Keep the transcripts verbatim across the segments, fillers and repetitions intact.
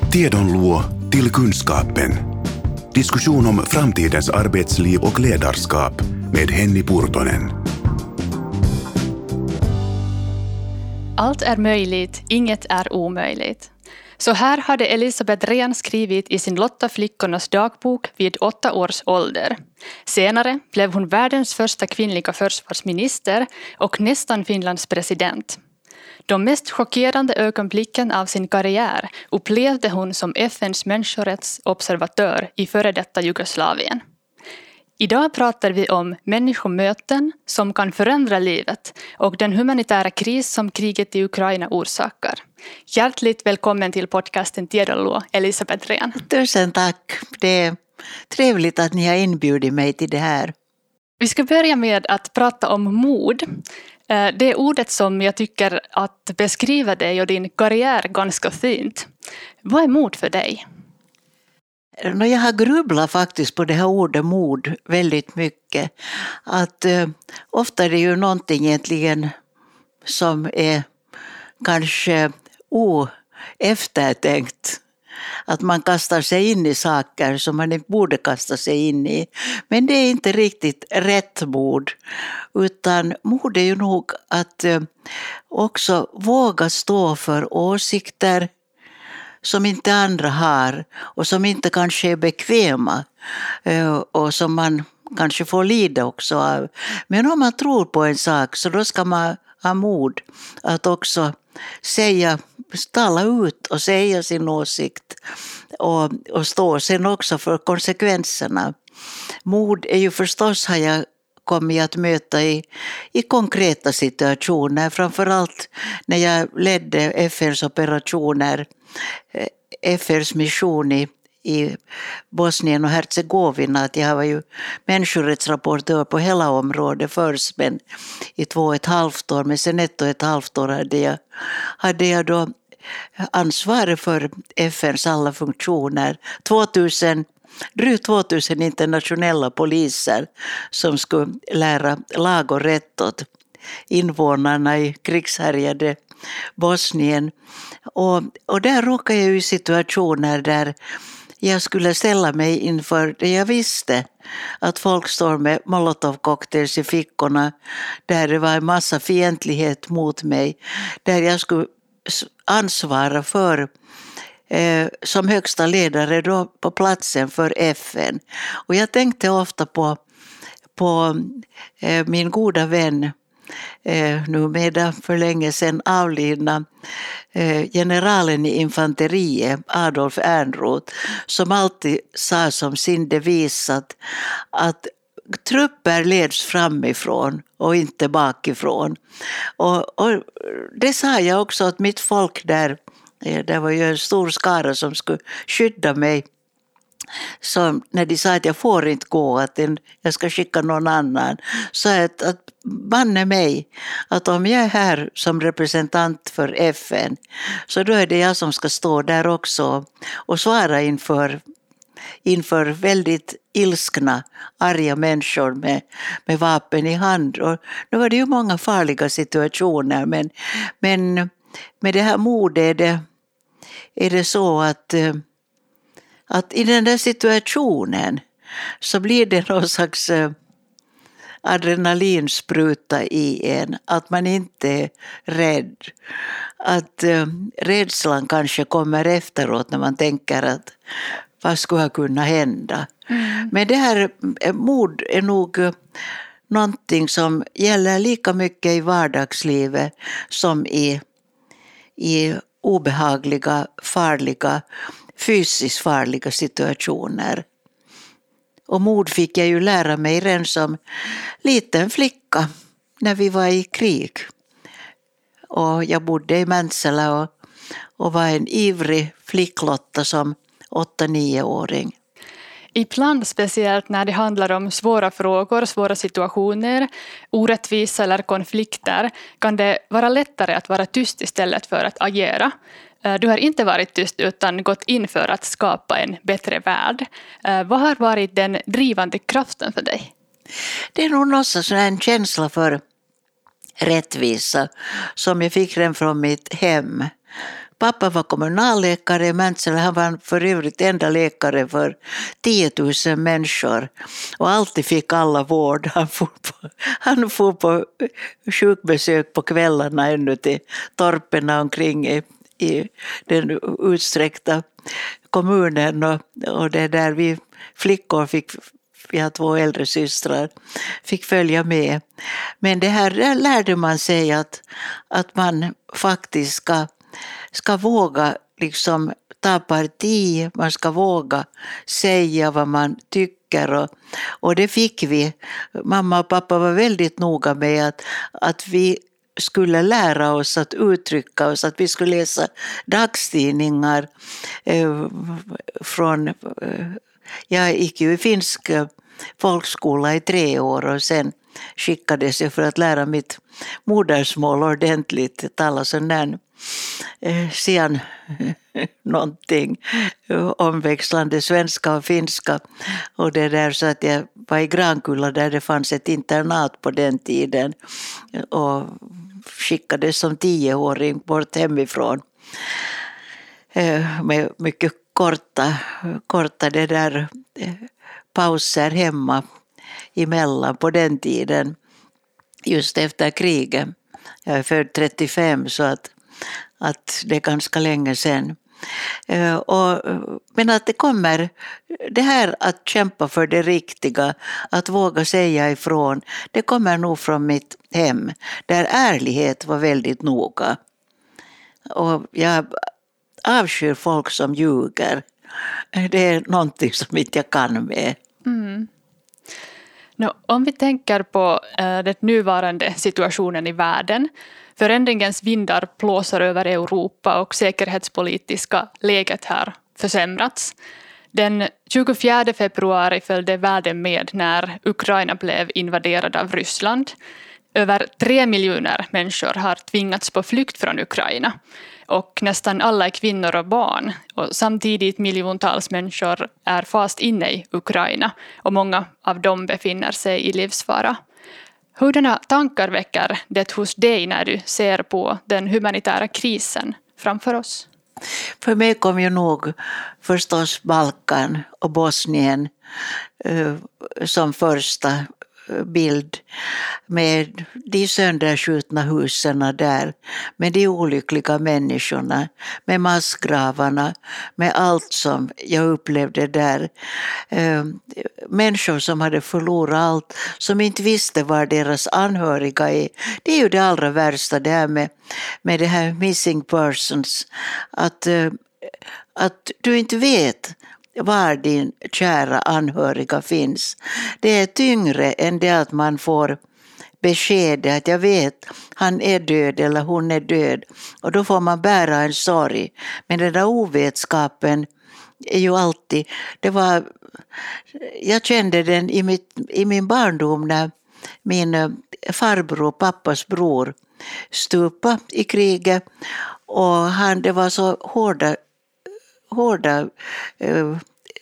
Tiedon luo till kunskapen. Diskussion om framtidens arbetsliv och ledarskap med Henny Purtonen. Allt är möjligt, inget är omöjligt. Så här hade Elisabeth Rehn skrivit i sin Lotta flickornas dagbok vid åtta års ålder. Senare blev hon världens första kvinnliga försvarsminister och nästan Finlands president. De mest chockerande ögonblicken av sin karriär upplevde hon som F N:s människorättsobservatör i före detta Jugoslavien. Idag pratar vi om människomöten som kan förändra livet och den humanitära kris som kriget i Ukraina orsakar. Hjärtligt välkommen till podcasten Tiedon luo, Elisabeth Rehn. Tusen tack. Det är trevligt att ni har inbjudit mig till det här. Vi ska börja med att prata om mod. Det är ordet som jag tycker att beskriva dig och din karriär ganska fint. Vad är mod för dig? Jag har grubblat faktiskt på det här ordet mod väldigt mycket. Att eh, ofta är det ju någonting egentligen som är kanske oeftertänkt. Att man kastar sig in i saker som man inte borde kasta sig in i. Men det är inte riktigt rätt mod. Utan mod är ju nog att eh, också våga stå för åsikter som inte andra har och som inte kanske är bekväma och som man kanske får lida också av. Men om man tror på en sak så då ska man ha mod att också säga, tala ut och säga sin åsikt och, och stå sen också för konsekvenserna. Mod är ju förstås, har jag kommit att möta i, i konkreta situationer, framförallt när jag ledde F N:s operationer, F N:s mission i, i Bosnien och Hercegovina. Att jag var ju människorättsrapportör på hela området först, men i två och ett halvt år, men sen ett och ett halvt år hade jag, hade jag då ansvar för F N:s alla funktioner. tvåtusen Drygt tvåtusen internationella poliser som skulle lära lag och rätt åt invånarna i krigshärjade Bosnien. Och, och där råkade jag i situationer där jag skulle ställa mig inför det jag visste. Att folk står med molotovcocktails i fickorna, där det var en massa fientlighet mot mig. Där jag skulle ansvara för Eh, som högsta ledare då på platsen för F N. Och jag tänkte ofta på, på eh, min goda vän, eh, numera för länge sedan avlidna eh, generalen i infanteriet, Adolf Ehrnrooth, som alltid sa som sin devis att, att trupper leds framifrån och inte bakifrån. Och, och det sa jag också åt mitt folk där. Det var ju en stor skara som skulle skydda mig. Så när de sa att jag får inte gå, att jag ska skicka någon annan, så att, att banne mig att om jag är här som representant för F N, så då är det jag som ska stå där också och svara inför, inför väldigt ilskna, arga människor med, med vapen i hand. Och nu var det ju många farliga situationer, men, men med det här modet är det, är det så att, att i den där situationen så blir det någon slags adrenalinspruta i en. Att man inte är rädd. Att rädslan kanske kommer efteråt när man tänker att vad skulle kunna hända. Mm. Men det här mod är nog någonting som gäller lika mycket i vardagslivet som i i obehagliga, farliga, fysiskt farliga situationer. Och mod fick jag ju lära mig redan som liten flicka när vi var i krig. Och jag bodde i Mäntsälä och, och var en ivrig flicklotta som åtta-nioåring. Ibland, speciellt när det handlar om svåra frågor, svåra situationer, orättvisa eller konflikter, kan det vara lättare att vara tyst istället för att agera. Du har inte varit tyst utan gått in för att skapa en bättre värld. Vad har varit den drivande kraften för dig? Det är nog någonstans en känsla för rättvisa som jag fick den från mitt hem. pappa var kommunalläkare i Mäntsälä. Han var för övrigt enda läkare för tio tusen människor. Och alltid fick alla vård. Han får på, han får på sjukbesök på kvällarna ännu till torperna omkring i, i den utsträckta kommunen. Och, och det där vi flickor fick... Vi har två äldre systrar, fick följa med. Men det här där lärde man sig att, att man faktiskt ska, ska våga liksom ta parti, man ska våga säga vad man tycker. Och, och det fick vi. Mamma och pappa var väldigt noga med att, att vi skulle lära oss att uttrycka oss, att vi skulle läsa dagstidningar eh, från... Eh, jag gick ju i finsk folkskola i tre år och sen skickades jag för att lära mitt modersmål ordentligt, tala sån där eh, sen någonting omväxlande svenska och finska och det där, så att jag var i Grankulla där det fanns ett internat på den tiden och skickades som tioåring bort hemifrån eh, med mycket korta, korta det där eh, pauser hemma emellan på den tiden, just efter kriget. Jag är född trettiofem, så att, att det är ganska länge sedan. Uh, och, men att det kommer, det här att kämpa för det riktiga, att våga säga ifrån, det kommer nog från mitt hem, där ärlighet var väldigt noga. Och jag avskyr folk som ljuger. Det är någonting som inte jag kan med. Mm. No, om vi tänker på äh, den nuvarande situationen i världen, förändringens vindar blåser över Europa och säkerhetspolitiska läget har försämrats. Den tjugofjärde februari följde världen med när Ukraina blev invaderad av Ryssland. Över tre miljoner människor har tvingats på flykt från Ukraina. Och nästan alla är kvinnor och barn. Och samtidigt miljontals människor är fast inne i Ukraina. Och många av dem befinner sig i livsfara. Hurdana tankar väcker det hos dig när du ser på den humanitära krisen framför oss? För mig kom ju nog förstås Balkan och Bosnien eh, som första bild, med de sönderskjutna husen där, med de olyckliga människorna, med massgravarna, med allt som jag upplevde där. Eh, människor som hade förlorat allt, som inte visste var deras anhöriga är. Det är ju det allra värsta, det här med, med det här missing persons, att, eh, att du inte vet var din kära anhöriga finns. Det är tyngre än det att man får besked att jag vet han är död eller hon är död, och då får man bära en sorg. Men den där ovetskapen är ju alltid, det var, jag kände den i, mitt, i min barndom när min farbror, pappas bror, stupa i kriget, och han, det var så hårda hårda eh,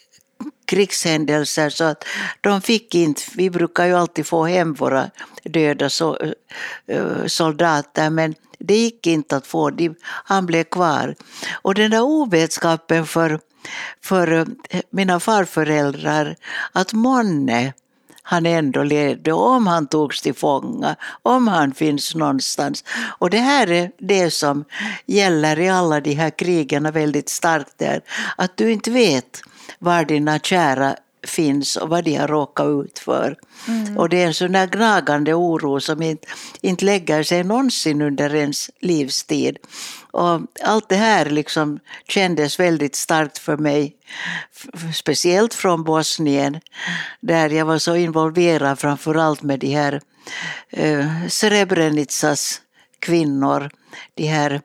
krigshändelser så att de fick inte, vi brukar ju alltid få hem våra döda so, eh, soldater, men det gick inte att få, de, han blev kvar. Och den där ovetskapen för, för mina farföräldrar, att månne han ändå levde, om han togs till fånga, om han finns någonstans. Och det här är det som gäller i alla de här krigen väldigt starkt där. Att du inte vet var dina kära finns och vad de har råkat ut för. Mm. Och det är en sån där gnagande oro som inte, inte lägger sig någonsin under ens livstid. Och allt det här liksom kändes väldigt starkt för mig, speciellt från Bosnien, där jag var så involverad framförallt med de här eh, Srebrenicas kvinnor. De här,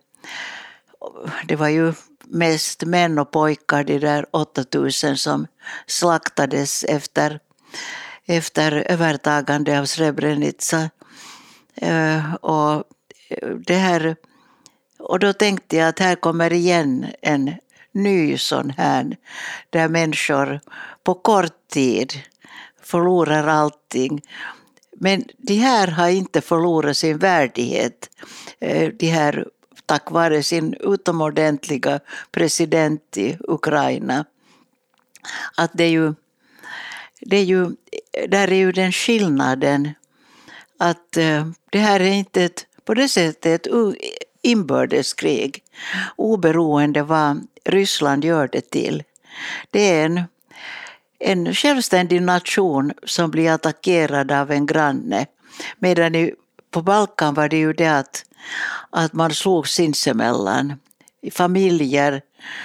det var ju mest män och pojkar, de där åttatusen som slaktades efter, efter övertagande av Srebrenica. Eh, och det här, och då tänkte jag att här kommer igen en ny sån här, där människor på kort tid förlorar allting. Men de här har inte förlorat sin värdighet. De här tack vare sin utomordentliga president i Ukraina. Att det är ju, det är ju, där är ju den skillnaden att eh, det här är inte ett, på det sättet ett inbördeskrig, oberoende vad Ryssland gör det till. Det är en, en självständig nation som blir attackerad av en granne. Medan i, på Balkan var det ju det att, att man slog sinsemellan. Familjer,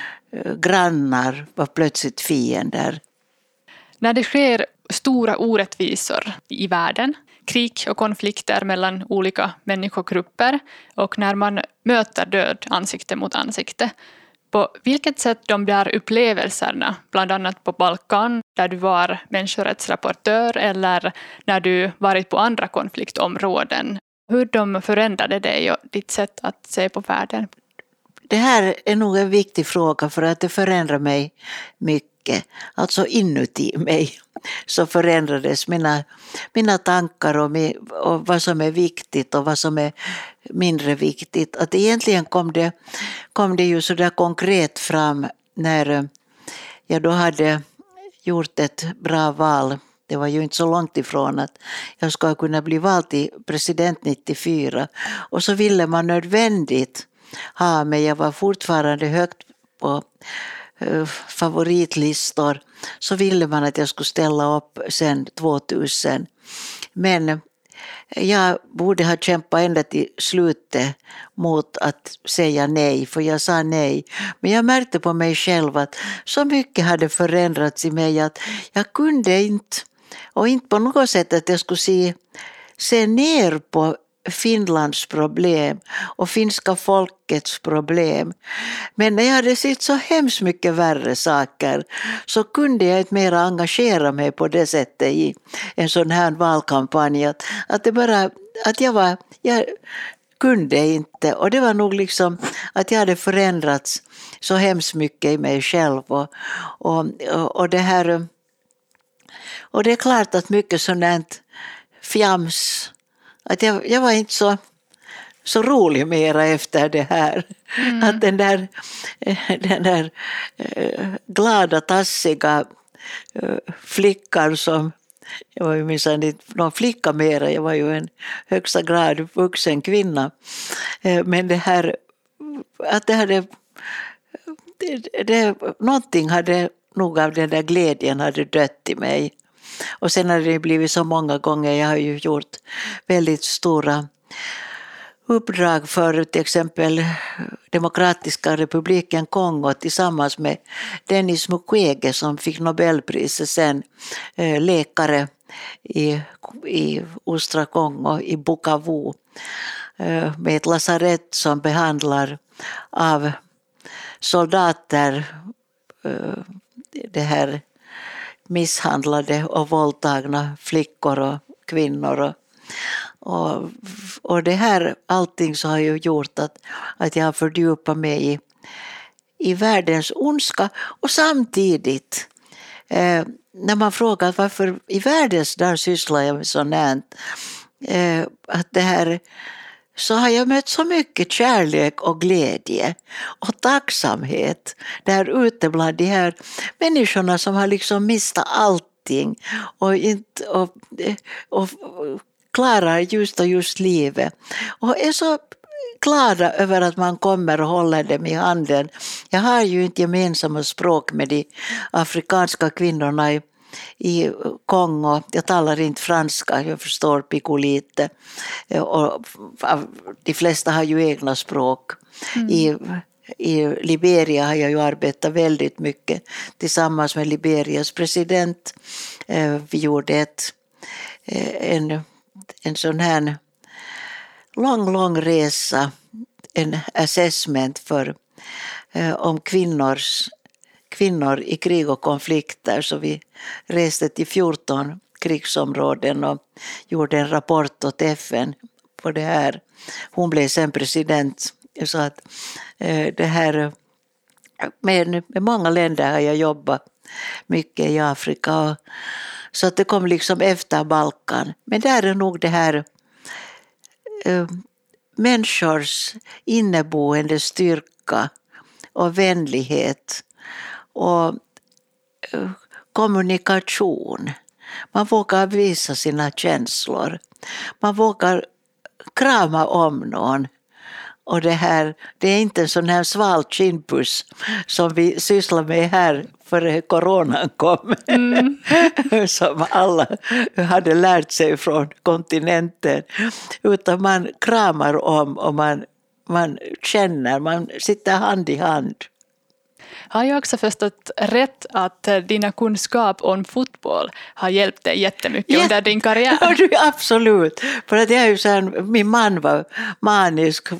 grannar var plötsligt fiender. När det sker stora orättvisor i världen, krig och konflikter mellan olika människogrupper och när man möter död ansikte mot ansikte, på vilket sätt de där upplevelserna, bland annat på Balkan där du var människorättsrapportör eller när du varit på andra konfliktområden, hur de förändrade dig och ditt sätt att se på världen? Det här är nog en viktig fråga för att det förändrar mig mycket. Alltså inuti mig så förändrades mina, mina tankar och, med, och vad som är viktigt och vad som är mindre viktigt. Att egentligen kom det, kom det ju så där konkret fram när jag då hade gjort ett bra val. Det var ju inte så långt ifrån att jag ska kunna bli vald till president nittiofyra. Och så ville man nödvändigt ha mig. Jag var fortfarande högt på favoritlistor, så ville man att jag skulle ställa upp sen tvåtusen. Men jag borde ha kämpat ända till slutet mot att säga nej, för jag sa nej. Men jag märkte på mig själv att så mycket hade förändrats i mig att jag kunde inte, och inte på något sätt att jag skulle se, se ner på Finlands problem och finska folkets problem. Men när jag hade sett så hemskt mycket värre saker så kunde jag inte mer engagera mig på det sättet i en sån här valkampanj. Att, att, det bara, att jag, var, jag kunde inte, och det var nog liksom att jag hade förändrats så hemskt mycket i mig själv. Och, och, och, det, här, och det är klart att mycket sådant fjams. Att jag, jag var inte så, så rolig mera efter det här. Mm. Att den där, den där äh, glada, tassiga äh, flickan som, jag var ju minsann inte någon flicka mera, jag var ju en högsta grad vuxen kvinna. Äh, men det här, att det hade, det, det, någonting hade nog av den där glädjen hade dött i mig. Och sen har det blivit så många gånger, jag har ju gjort väldigt stora uppdrag för till exempel Demokratiska republiken Kongo tillsammans med Denis Mukwege som fick Nobelpriset sen, läkare i, i östra Kongo, i Bukavu, med ett lasarett som behandlar av soldater det här misshandlade och våldtagna flickor och kvinnor. Och, och, och det här, allting så har ju gjort att, att jag har fördjupat mig i, i världens ondska. Och samtidigt, eh, när man frågar varför i världens där sysslar jag med sånt här, eh, att det här, så har jag mött så mycket kärlek och glädje och tacksamhet där ute bland de här människorna som har liksom mistat allting och, inte, och, och klarar just och just livet. Och är så glada över att man kommer och håller dem i handen. Jag har ju inte gemensamma språk med de afrikanska kvinnorna i i Kongo. Jag talar inte franska, jag förstår pico lite. Och de flesta har ju egna språk. Mm. I, I Liberia har jag ju arbetat väldigt mycket tillsammans med Liberias president. Vi gjorde ett, en, en sån här lång, lång resa, en assessment för, om kvinnors kvinnor i krig och konflikter, så vi reste till fjorton krigsområden och gjorde en rapport åt F N på det här. Hon blev sen president, så att eh, det här med, med många länder har jag jobbat mycket i Afrika, och, så att det kom liksom efter Balkan. Men där är nog det här eh, människors inneboende styrka och vänlighet och kommunikation. Man vågar visa sina känslor. Man vågar krama om någon. Och det här, det är inte en sån här sval kindpuss som vi sysslar med här före coronan kom. Mm. Som alla hade lärt sig från kontinenten. Utan man kramar om och man, man känner, man sitter hand i hand. Har jag också förstått rätt att dina kunskap om fotboll har hjälpt dig jättemycket ja, under din karriär? Ja, absolut. För att jag är ju så här, min man var manisk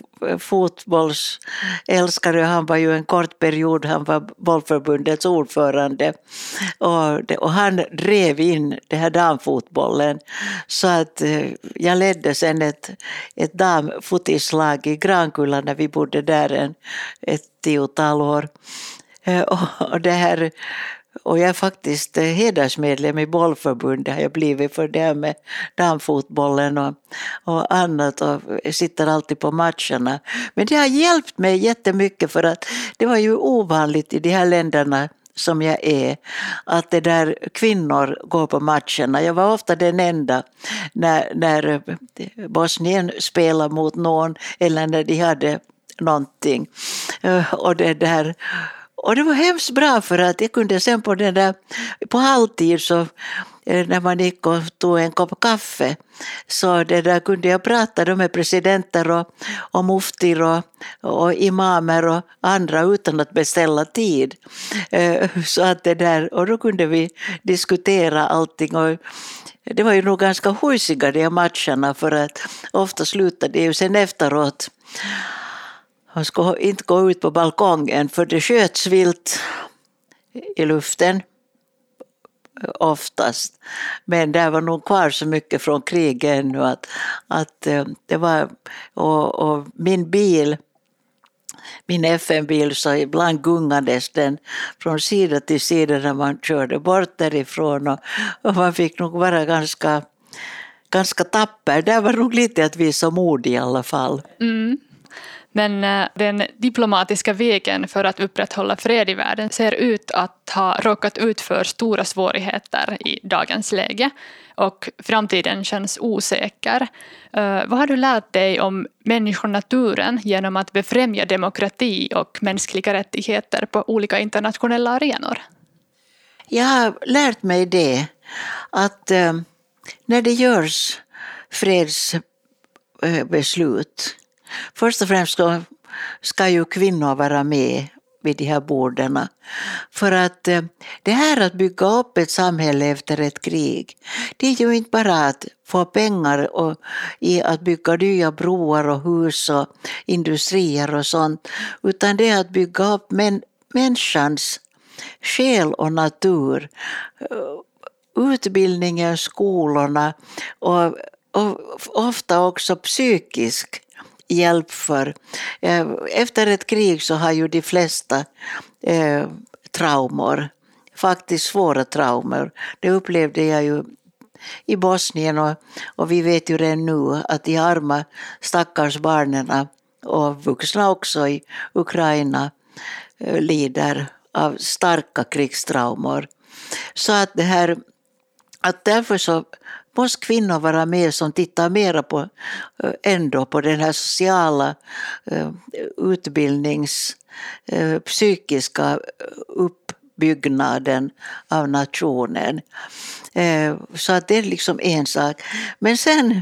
fotbollsälskare. Han var ju en kort period, han var bollförbundets ordförande. Och, det, och han drev in det här damfotbollen. Så att jag ledde sen ett, ett damfotislag i Grankulla när vi bodde där en, ett tiotal år. Och, det här, och jag är faktiskt hedersmedlem i bollförbundet har jag blivit för det här med damfotbollen och, och annat och sitter alltid på matcherna. Men det har hjälpt mig jättemycket för att det var ju ovanligt i de här länderna som jag är, att det där kvinnor går på matcherna. Jag var ofta den enda när, när Bosnien spelade mot någon eller när de hade någonting. Och det där... Och det var hemskt bra för att jag kunde sen på den där, på halvtid så när man gick och tog en kopp kaffe så det där kunde jag prata med presidenter och, och muftir och, och imamer och andra utan att beställa tid. Så att det där, och då kunde vi diskutera allting och det var ju nog ganska hujsiga de matcherna för att ofta slutade det ju sen efteråt. Han skulle inte gå ut på balkongen för det sköts vilt i luften oftast. Men det var nog kvar så mycket från kriget ännu att, att det var, och, och min bil, min F M-bil så ibland gungades den från sida till sida när man körde bort därifrån och, och man fick nog vara ganska, ganska tapper. Det var nog lite att visa mod i alla fall. Mm. Men den diplomatiska vägen för att upprätthålla fred i världen ser ut att ha råkat ut för stora svårigheter i dagens läge och framtiden känns osäker. Uh, vad har du lärt dig om människonaturen genom att befrämja demokrati och mänskliga rättigheter på olika internationella arenor? Jag har lärt mig det att uh, när det görs fredsbeslut uh, först och främst ska, ska ju kvinnor vara med vid de här borden. För att eh, det här att bygga upp ett samhälle efter ett krig, det är ju inte bara att få pengar och, i att bygga nya broar och hus och industrier och sånt, utan det är att bygga upp män, människans själ och natur, utbildningen, skolorna och, och ofta också psykisk hjälp för. Efter ett krig så har ju de flesta eh, traumor, faktiskt svåra traumor. Det upplevde jag ju i Bosnien och, och vi vet ju redan nu att de arma stackars barnen och vuxna också i Ukraina eh, lider av starka krigstraumor. Så att det här, att därför så måste kvinnor vara med som tittar mer på, ändå på den här sociala utbildnings, psykiska uppbyggnaden av nationen. Så att det är liksom en sak. Men sen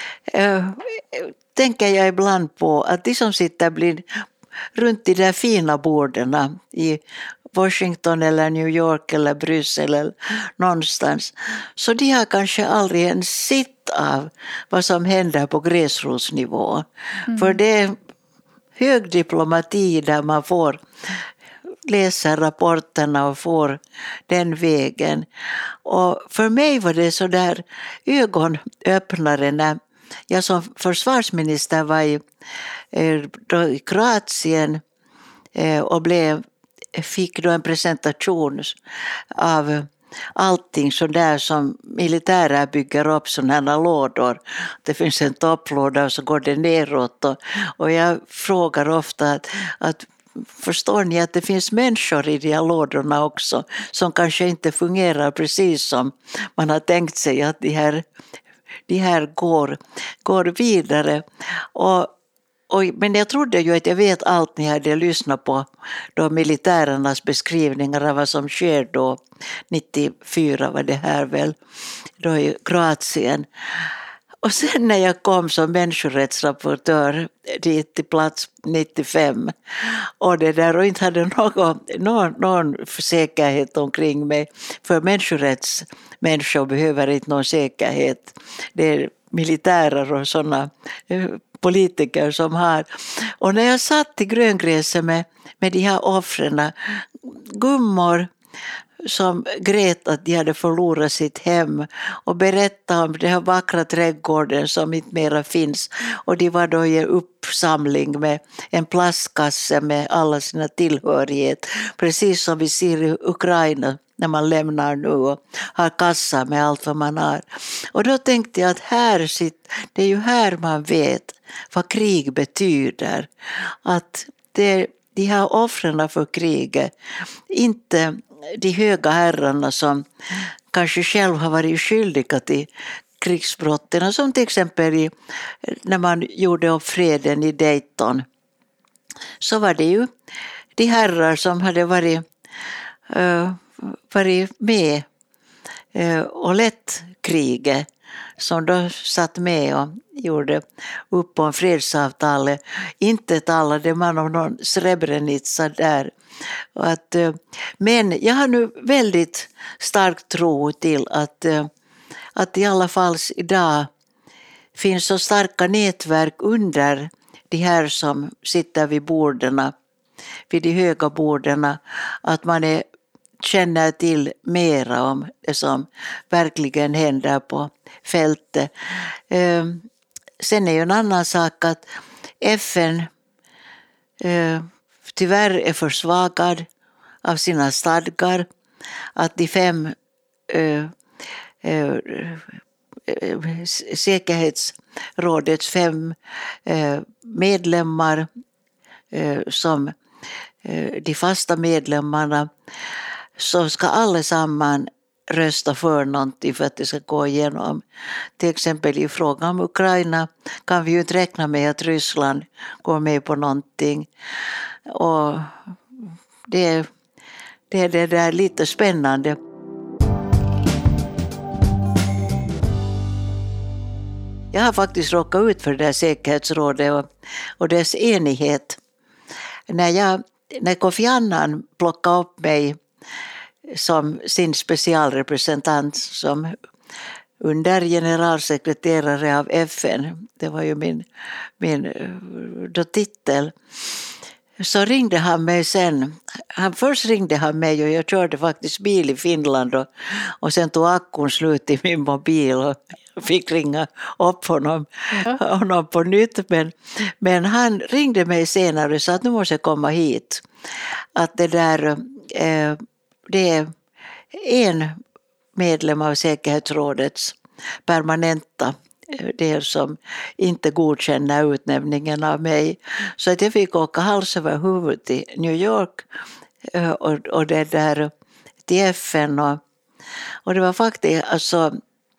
tänker jag ibland på att de som sitter blir runt de där fina borden i Washington eller New York eller Bryssel eller någonstans. Så de har kanske aldrig ens sett av vad som händer på gräsrotsnivå. Mm. För det är hög diplomati där man får läsa rapporterna och får den vägen. Och för mig var det så där ögonöppnare när jag som försvarsminister var i, i Kroatien och blev fick då en presentation av allting så där som militärer bygger upp sådana här lådor. Det finns en topplåda och så går det neråt. Och, och jag frågar ofta att, att förstår ni att det finns människor i de här lådorna också som kanske inte fungerar precis som man har tänkt sig, att de här, de här går, går vidare. Och, och, men jag trodde ju att jag vet allt ni hade lyssnat på då militärernas beskrivningar av vad som sker då nittiofyra var det här väl, då i Kroatien. Och sen när jag kom som människorättsrapportör dit till plats nittiofem och det där och inte hade någon, någon, någon säkerhet omkring mig, för människorättsmänniskor behöver inte någon säkerhet. Det är militärer och sådana politiker som har. Och när jag satt i gröngräset med, med de här offren, gummor som grät att de hade förlorat sitt hem och berättade om den här vackra trädgården som inte mera finns. Och de var då i en uppsamling med en plastkasse med alla sina tillhörighet. Precis som vi ser i Ukraina när man lämnar nu och har kassa med allt vad man har. Och då tänkte jag att här sitter, det är ju här man vet vad krig betyder. Att det, de här offren för kriget, inte de höga herrarna som kanske själv har varit skyldiga till krigsbrotten, som till exempel i, när man gjorde upp freden i Dayton, så var det ju de herrar som hade varit, uh, varit med uh, och lett kriget, som då satt med och gjorde upp om fredsavtalet. Inte talade man om någon Srebrenica där. Och att, men jag har nu väldigt stark tro till att, att i alla fall idag finns så starka nätverk under de här som sitter vid borden, vid de höga borden, att man är, känner till mera om det som verkligen händer på fältet. Sen är ju en annan sak att F N tyvärr är försvagad av sina stadgar, att de fem äh, äh, säkerhetsrådets fem äh, medlemmar äh, som äh, de fasta medlemmarna, så ska allesamman rösta för någonting för att det ska gå igenom. Till exempel i frågan om Ukraina kan vi ju inte räkna med att Ryssland går med på någonting. Och det, det, det, det är lite spännande. Jag har faktiskt råkat ut för det här säkerhetsrådet och, och dess enighet. När, jag, när Kofi Annan plockade upp mig som sin specialrepresentant som under generalsekreterare av F N, det var ju min, min då titel, så ringde han mig sen. Han först ringde han mig och jag körde faktiskt bil i Finland och, och sen tog akkun slut i min mobil och fick ringa upp honom, ja. honom på nytt. Men, men han ringde mig senare och sa att nu måste jag komma hit. Att det där, eh, det är en medlem av säkerhetsrådets permanenta del som inte godkänner utnämningen av mig. Så att jag fick åka hals över huvud till New York och, och det där till F N. Och, och det var faktiskt alltså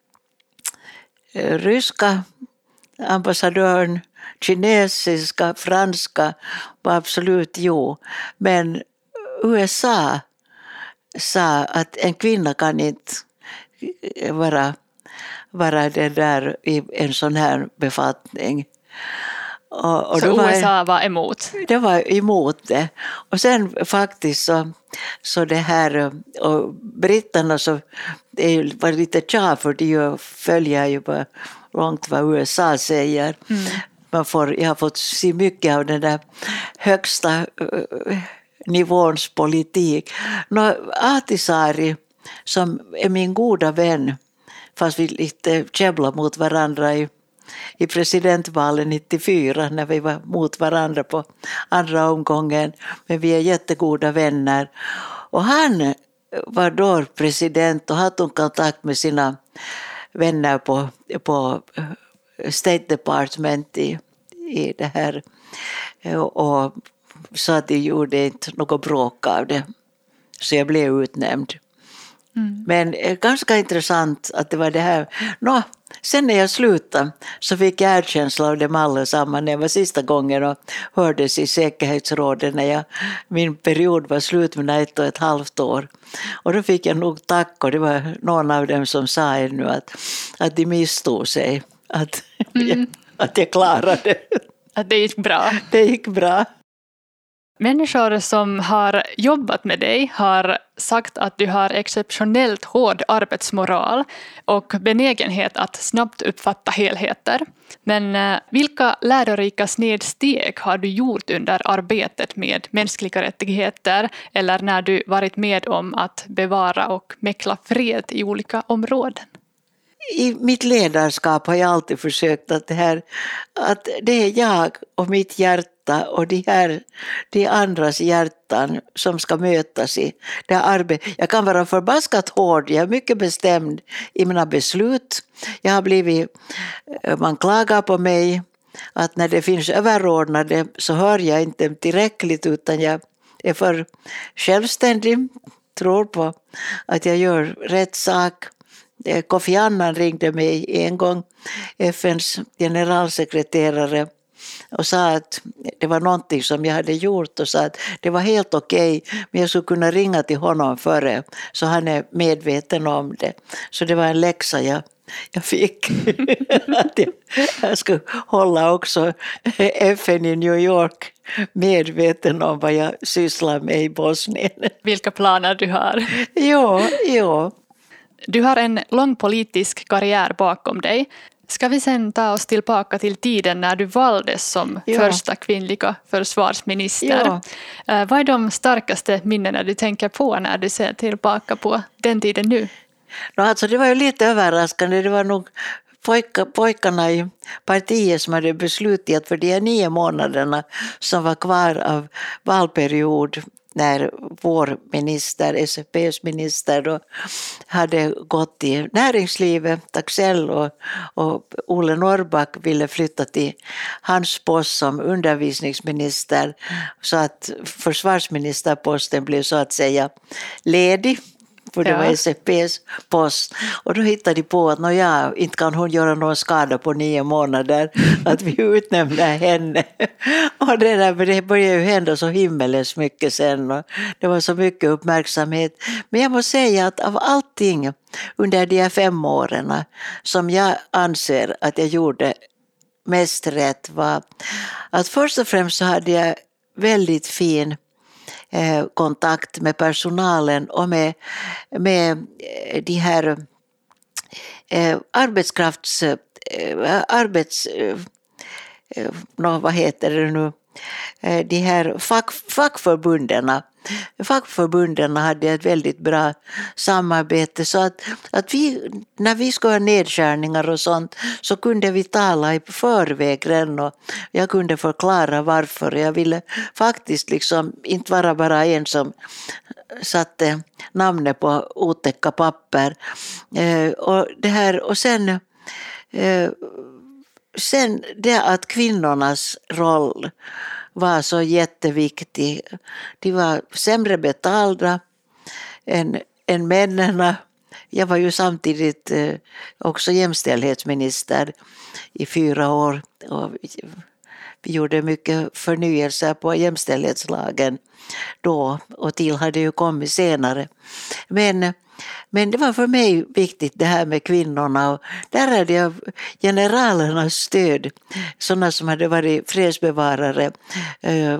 ryska ambassadören, kinesiska, franska var absolut jo. Men U S A sa att en kvinna kan inte vara vara det där i en sån här befattning. Och, och så var, U S A var emot? Det var emot det. Och sen faktiskt så, så det här, och britterna så det var lite tja för de följer ju bara långt vad U S A säger. Mm. Man får, jag har fått se mycket av den där högsta uh, nivåns politik. Nå, Ahtisaari som är min goda vän, fast vi lite käbblar mot varandra i, i presidentvalet nittiofyra när vi var mot varandra på andra omgången. Men vi är jättegoda vänner. Och han var då president och hade kontakt med sina vänner på, på State Department i, i det här och sa att de gjorde inte något bråk av det. Så jag blev utnämnd. Mm. Men ganska intressant att det var det här. Nå, sen när jag slutade så fick jag erkänsla av dem allesammans. Det var sista gången och hördes i säkerhetsrådet när jag, min period var slut med ett och ett halvt år. Och då fick jag nog tack och det var någon av dem som sa ännu att, att de misstog sig. Att, mm. jag, att jag klarade. Att det gick bra. Det gick bra. Människor som har jobbat med dig har sagt att du har exceptionellt hård arbetsmoral och benägenhet att snabbt uppfatta helheter. Men vilka lärorika snedsteg har du gjort under arbetet med mänskliga rättigheter eller när du varit med om att bevara och mäkla fred i olika områden? I mitt ledarskap har jag alltid försökt att det här, att det är jag och mitt hjärta och de här, de andras hjärtan som ska mötas i det här arbetet. Jag kan vara förbaskat hård, jag är mycket bestämd i mina beslut. Jag har blivit, man klagar på mig att när det finns överordnade så hör jag inte tillräckligt utan jag är för självständig, tror på att jag gör rätt sak. Kofi Annan ringde mig en gång, F N:s generalsekreterare, och sa att det var någonting som jag hade gjort och sa att det var helt okej, men jag skulle kunna ringa till honom före så han är medveten om det. Så det var en läxa jag, jag fick att jag, jag skulle hålla också F N i New York medveten om vad jag sysslar med i Bosnien. Vilka planer du har. Ja, ja. Du har en lång politisk karriär bakom dig. Ska vi sen ta oss tillbaka till tiden när du valdes som ja. första kvinnliga försvarsminister? Ja. Vad är de starkaste minnena du tänker på när du ser tillbaka på den tiden nu? No, alltså det var ju lite överraskande. Det var nog pojka, pojkarna i partiet som hade beslutat att för de nio månaderna som var kvar av valperiod när vår minister, S F P:s minister, då hade gått i näringslivet, Taxell och, och Ole Norrback ville flytta till hans post som undervisningsminister så att försvarsministerposten blev så att säga ledig. För det ja. var S F P:s post. Och då hittade de på att no, ja, inte kan hon göra någon skada på nio månader. Att vi utnämnde henne. Och det, där, det började ju hända så himmelens mycket sen. Och det var så mycket uppmärksamhet. Men jag måste säga att av allting under de här fem åren som jag anser att jag gjorde mest rätt var att först och främst så hade jag väldigt fin kontakt med personalen och med, med de här eh, arbetskrafts... Eh, arbets... Eh, no, vad heter det nu? Eh, de här fack, fackförbunderna. Fackförbunderna hade ett väldigt bra samarbete så att, att vi, när vi skulle ha nedskärningar och sånt så kunde vi tala i förväg redan och jag kunde förklara varför. Jag ville faktiskt liksom inte vara bara en som satte namnet på otäcka papper. Eh, och, det här, och sen, eh, sen det att kvinnornas roll var så jätteviktig. De var sämre betalda än, än männen. Jag var ju samtidigt eh, också jämställdhetsminister i fyra år. Och vi, vi gjorde mycket förnyelse på jämställdhetslagen då och till hade ju kommit senare. Men Men det var för mig viktigt det här med kvinnorna och där hade jag generalernas stöd, sådana som hade varit fredsbevarare, eh,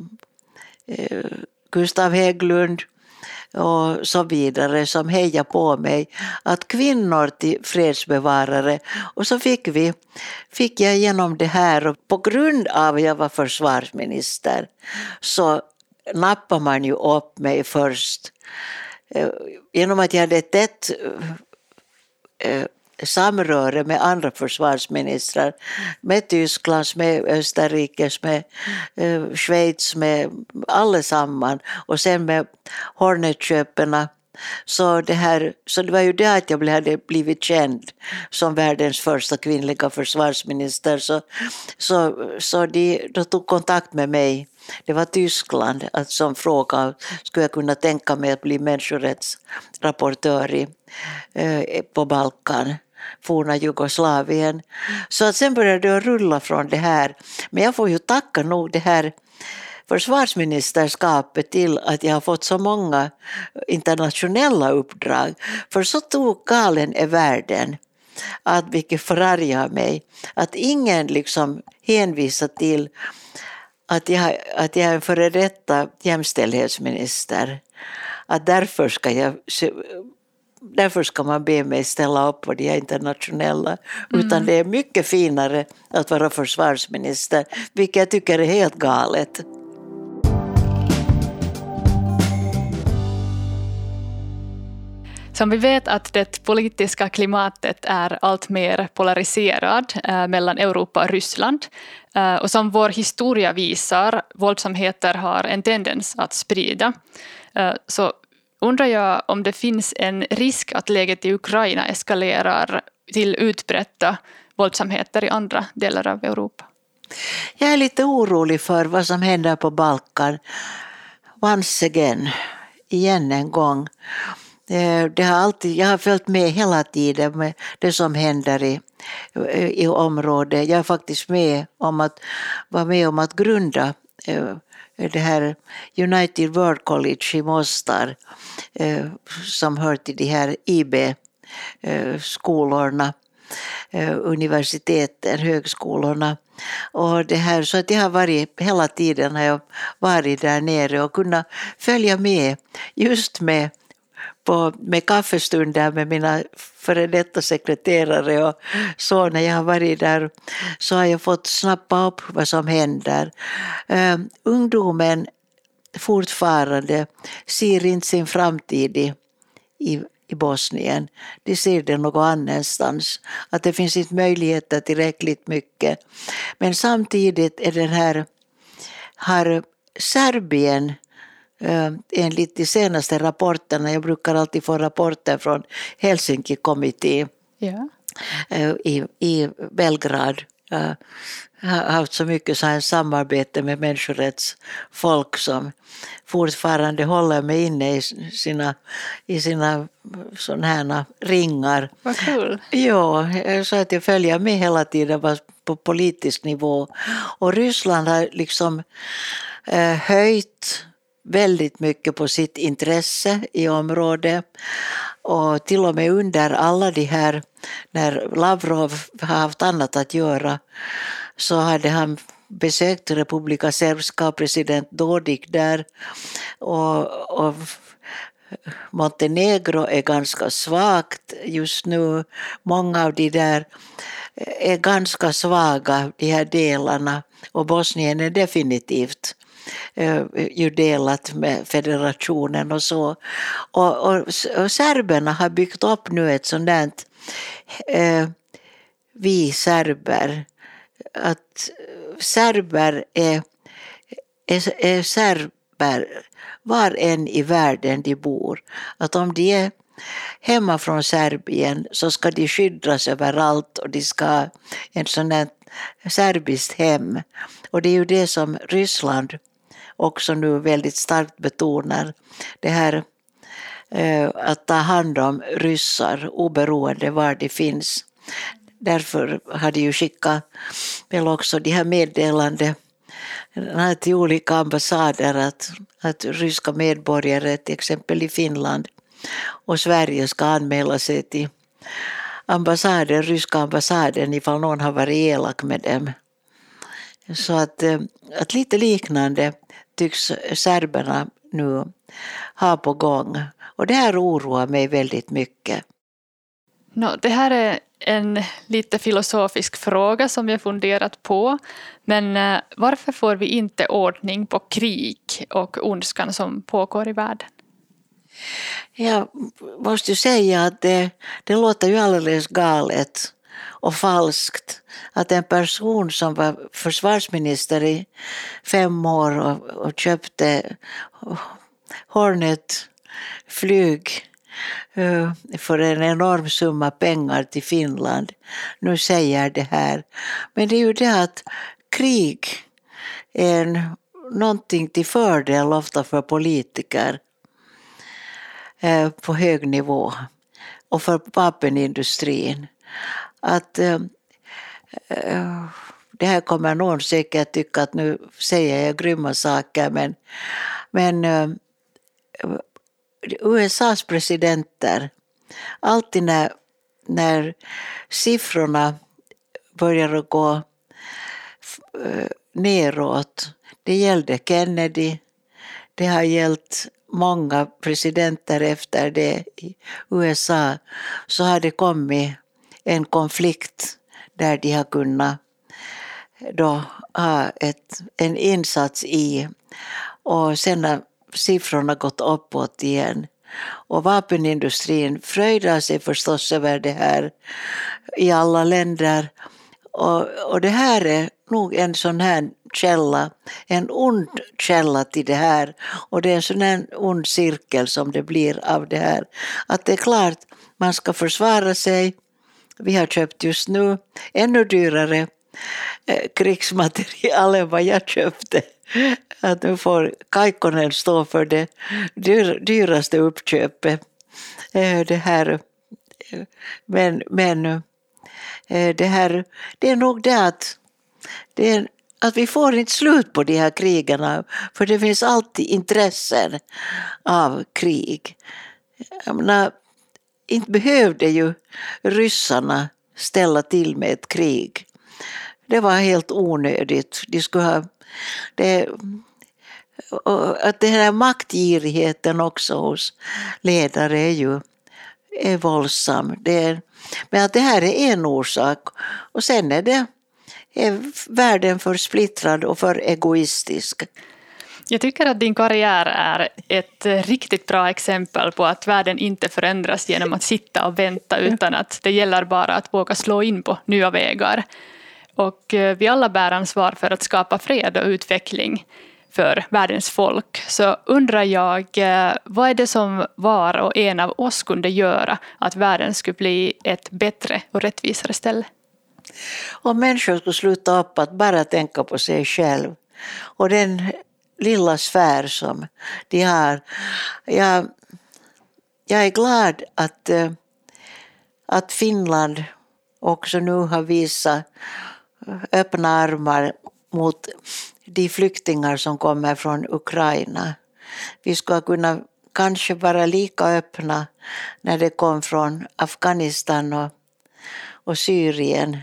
eh, Gustav Hägglund och så vidare som hejade på mig att kvinnor till fredsbevarare och så fick vi fick jag igenom det här och på grund av att jag var försvarsminister så nappade man ju upp mig först. Genom att jag hade ett tätt eh, samröre med andra försvarsministrar, med Tysklands, med Österrikes, med eh, Schweiz, med allesamman och sen med Hornetköperna Så det, här, så det var ju det att jag hade blivit känd som världens första kvinnliga försvarsminister. Så, så, så de, de tog kontakt med mig. Det var Tyskland att som fråga, skulle jag kunna tänka mig att bli människorättsrapportör i, eh, på Balkan, forna Jugoslavien. Så att sen började det rulla från det här. Men jag får ju tacka nog det här försvarsministerskapet till att jag har fått så många internationella uppdrag. För så tog galen är världen, att vilket förargar mig, att ingen liksom hänvisar till att jag, att jag är en före detta jämställdhetsminister. Att därför ska jag... Därför ska man be mig ställa upp på de internationella. Mm. Utan det är mycket finare att vara försvarsminister, vilket jag tycker är helt galet. Som vi vet att det politiska klimatet är allt mer polariserad eh, mellan Europa och Ryssland. Eh, och som vår historia visar, våldsamheter har en tendens att sprida. Eh, så undrar jag om det finns en risk att läget i Ukraina eskalerar till utbredda våldsamheter i andra delar av Europa. Jag är lite orolig för vad som händer på Balkan. Once again, igen en gång. Det har alltid, jag har följt med hela tiden med det som händer i, i området. Jag är faktiskt med om att, var med om att grunda det här United World College i Mostar, som hör till de här I B-skolorna, universiteten, högskolorna. Och det här, så att jag har varit, hela tiden har jag varit där nere och kunnat följa med just med På, med kaffestunder med mina före detta sekreterare och så. När jag har varit där så har jag fått snappa upp vad som händer. Uh, ungdomen fortfarande ser inte sin framtid i, i, i Bosnien. De ser det någon annanstans. Att det finns inte möjligheter tillräckligt mycket. Men samtidigt är den här, har Serbien, Uh, enligt de senaste rapporterna, jag brukar alltid få rapporter från Helsinki-kommittén yeah. uh, i, i Belgrad. Uh, har haft så mycket så här samarbete med människorättsfolk som fortfarande håller mig inne i sina, i sina såna här ringar. Vad kul. Ja, så att jag följer med hela tiden på politisk nivå. Och Ryssland har liksom uh, höjt väldigt mycket på sitt intresse i området, och till och med under alla de här, när Lavrov har haft annat att göra, så hade han besökt Republika Srpska, president Dodik där, och, och Montenegro är ganska svagt just nu. Många av de där är ganska svaga, de här delarna, och Bosnien är definitivt ju delat med federationen och så. Och, och, och serberna har byggt upp nu ett sånt där eh, vi serber, att serber är, är, är serber var än i världen de bor. Att om de är hemma från Serbien så ska de skyddas överallt, och de ska ha en sån där serbiskt hem. Och det är ju det som Ryssland också nu väldigt starkt betonar, det här eh, att ta hand om ryssar oberoende var det finns. Därför har de ju skickat väl också de här meddelande till olika ambassader att, att ryska medborgare, till exempel i Finland och Sverige, ska anmäla sig till ambassaden, ryska ambassaden, ifall någon har varit elak med dem. Så att, att lite liknande tycks serberna nu ha på gång. Och det här oroar mig väldigt mycket. No, det här är en lite filosofisk fråga som jag funderat på. Men varför får vi inte ordning på krig och ondskan som pågår i världen? Jag måste ju säga att det, det låter ju alldeles galet och falskt att en person som var försvarsminister i fem år och, och köpte Hornet flyg för en enorm summa pengar till Finland. Nu säger det här. Men det är ju det att krig är en, någonting till fördel ofta för politiker på hög nivå och för vapenindustrin. Att det här kommer någon säkert tycka att nu säger jag grymma saker, men, men U S A:s presidenter, alltid när, när siffrorna börjar att gå neråt, det gällde Kennedy, det har gällt många presidenter efter det i U S A, så har det kommit en konflikt där de har kunnat då ha ett, en insats i, och sen har siffrorna gått uppåt igen. Och vapenindustrin fröjdar sig förstås över det här i alla länder. Och, och det här är nog en sån här källa, en ond källa till det här. Och det är en sån här ond cirkel som det blir av det här. Att det är klart, man ska försvara sig. Vi har köpt just nu ännu dyrare eh, krigsmaterial än vad jag köpte. Att nu får Kaikkonen stå för det dyr, dyraste uppköpet. Eh, det här, men men eh, det här, det är nog det att, det är, att vi får inte slut på de här krigarna, för det finns alltid intressen av krig. Jag menar, inte behövde ju ryssarna ställa till med ett krig. Det var helt onödigt. De skulle ha, det, att den här maktgirigheten också hos ledare är ju är våldsam. Det är, men att det här är en orsak. Och sen är det är världen för splittrad och för egoistisk. Jag tycker att din karriär är ett riktigt bra exempel på att världen inte förändras genom att sitta och vänta, utan att det gäller bara att våga slå in på nya vägar. Och vi alla bär ansvar för att skapa fred och utveckling för världens folk. Så undrar jag, vad är det som var och en av oss kunde göra att världen skulle bli ett bättre och rättvisare ställe? Om människor skulle sluta upp att bara tänka på sig själv och den lilla sfär som de har. Jag, jag är glad att, att Finland också nu har visat öppna armar mot de flyktingar som kommer från Ukraina. Vi ska kunna kanske vara lika öppna när det kom från Afghanistan och, och Syrien.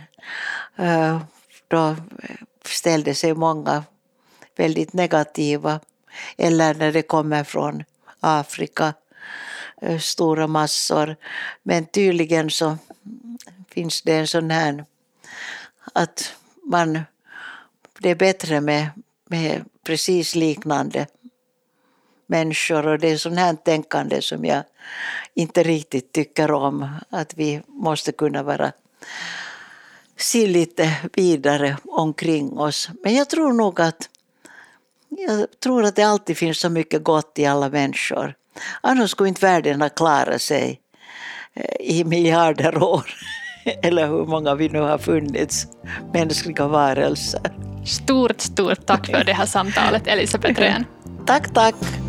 Då ställde sig många väldigt negativa, eller när det kommer från Afrika, stora massor. Men tydligen så finns det en sån här att man, det är bättre med, med precis liknande människor, och det är sån här tänkande som jag inte riktigt tycker om, att vi måste kunna vara se lite vidare omkring oss. Men jag tror nog att Jag tror att det alltid finns så mycket gott i alla människor. Annars skulle inte världen ha klarat sig i miljarder år. Eller hur många vi nu har funnits, mänskliga varelser. Stort, stort tack för det här samtalet, Elisabeth Rehn. Tack, tack.